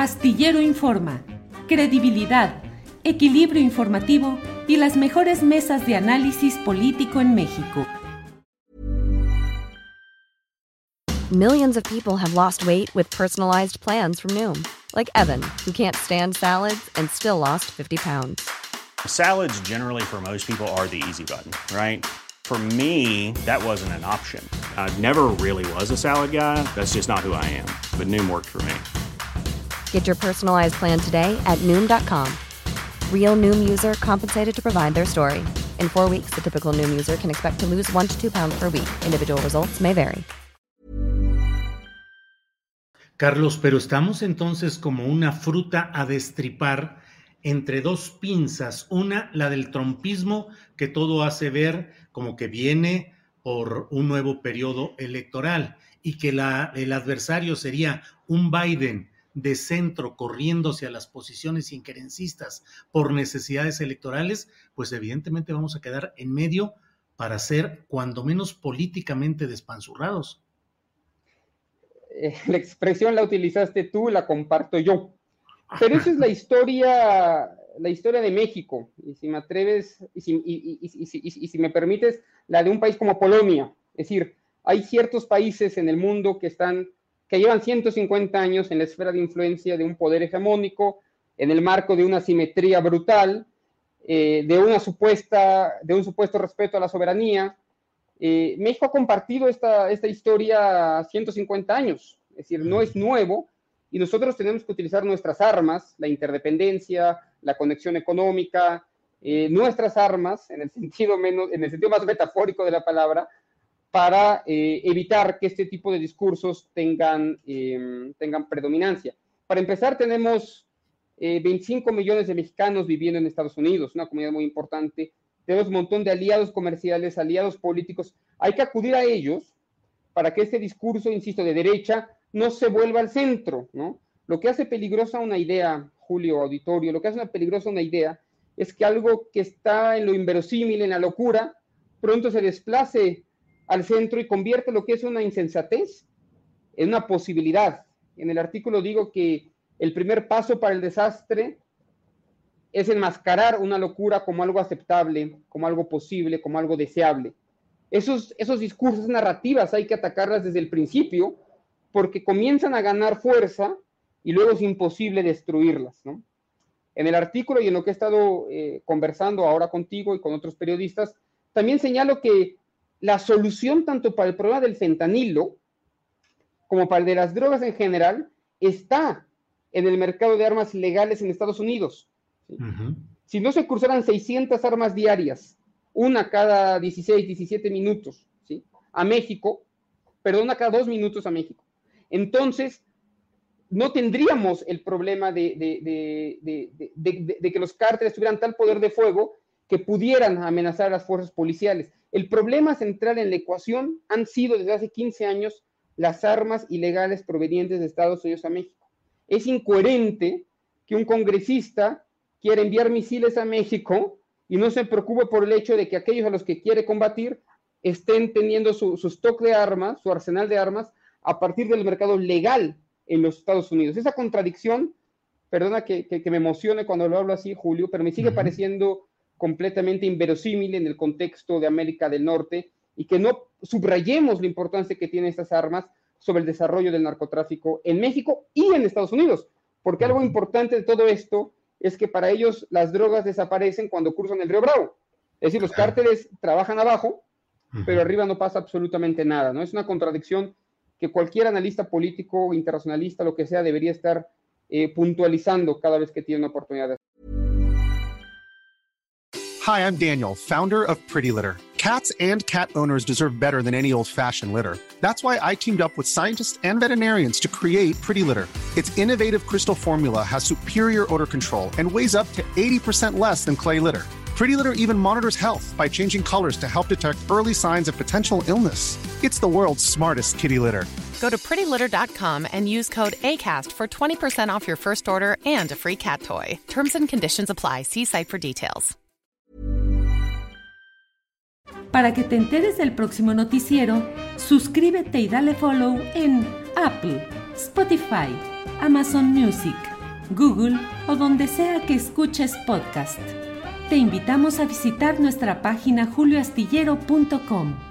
Astillero Informa, credibilidad, equilibrio informativo y las mejores mesas de análisis político en México. Millions of people have lost weight with personalized plans from Noom. Like Evan, who can't stand salads and still lost 50 pounds. Salads generally for most people are the easy button, right? For me, that wasn't an option. I never really was a salad guy. That's just not who I am. But Noom worked for me. Get your personalized plan today at Noom.com. Real Noom user compensated to provide their story. In 4 weeks, the typical Noom user can expect to lose 1 to 2 pounds per week. Individual results may vary. Carlos, pero estamos entonces como una fruta a destripar entre dos pinzas. Una, la del trumpismo, que todo hace ver como que viene por un nuevo periodo electoral y que el adversario sería un Biden de centro corriéndose a las posiciones injerencistas por necesidades electorales, pues evidentemente vamos a quedar en medio para ser cuando menos políticamente despanzurrados. La expresión la utilizaste tú, la comparto yo. Pero esa es la historia de México. Y si me atreves, y si me permites, la de un país como Polonia. Es decir, hay ciertos países en el mundo que llevan 150 años en la esfera de influencia de un poder hegemónico, en el marco de una simetría brutal, de un supuesto respeto a la soberanía. México ha compartido esta historia 150 años, es decir, no es nuevo, y nosotros tenemos que utilizar nuestras armas, la interdependencia, la conexión económica, nuestras armas, en el sentido más metafórico de la palabra, para evitar que este tipo de discursos tengan predominancia. Para empezar, tenemos 25 millones de mexicanos viviendo en Estados Unidos, una comunidad muy importante. Tenemos un montón de aliados comerciales, aliados políticos. Hay que acudir a ellos para que este discurso, insisto, de derecha no se vuelva al centro, ¿no? Lo que hace peligrosa una idea, Julio, auditorio, lo que hace peligrosa una idea es que algo que está en lo inverosímil, en la locura, pronto se desplace al centro y convierte lo que es una insensatez en una posibilidad. En el artículo digo que el primer paso para el desastre es enmascarar una locura como algo aceptable, como algo posible, como algo deseable. Esos discursos, narrativas, hay que atacarlas desde el principio, porque comienzan a ganar fuerza y luego es imposible destruirlas, ¿no? En el artículo y en lo que he estado conversando ahora contigo y con otros periodistas, también señalo que la solución tanto para el problema del fentanilo como para el de las drogas en general está en el mercado de armas ilegales en Estados Unidos. ¿Sí? Uh-huh. Si no se cruzaran 600 armas diarias, una cada 16, 17 minutos, ¿sí? A México, una cada 2 minutos a México, entonces no tendríamos el problema de que los cárteles tuvieran tal poder de fuego que pudieran amenazar a las fuerzas policiales. El problema central en la ecuación han sido desde hace 15 años las armas ilegales provenientes de Estados Unidos a México. Es incoherente que un congresista quiera enviar misiles a México y no se preocupe por el hecho de que aquellos a los que quiere combatir estén teniendo su stock de armas, su arsenal de armas, a partir del mercado legal en los Estados Unidos. Esa contradicción, perdona que me emocione cuando lo hablo así, Julio, pero me sigue pareciendo completamente inverosímil en el contexto de América del Norte y que no subrayemos la importancia que tienen estas armas sobre el desarrollo del narcotráfico en México y en Estados Unidos, porque algo importante de todo esto es que para ellos las drogas desaparecen cuando cruzan el Río Bravo. Es decir, los cárteles trabajan abajo, pero arriba no pasa absolutamente nada, ¿no? Es una contradicción que cualquier analista político, internacionalista, lo que sea, debería estar puntualizando cada vez que tiene una oportunidad. Hi, I'm Daniel, founder of Pretty Litter. Cats and cat owners deserve better than any old-fashioned litter. That's why I teamed up with scientists and veterinarians to create Pretty Litter. Its innovative crystal formula has superior odor control and weighs up to 80% less than clay litter. Pretty Litter even monitors health by changing colors to help detect early signs of potential illness. It's the world's smartest kitty litter. Go to prettylitter.com and use code ACAST for 20% off your first order and a free cat toy. Terms and conditions apply. See site for details. Para que te enteres del próximo noticiero, suscríbete y dale follow en Apple, Spotify, Amazon Music, Google o donde sea que escuches podcast. Te invitamos a visitar nuestra página julioastillero.com.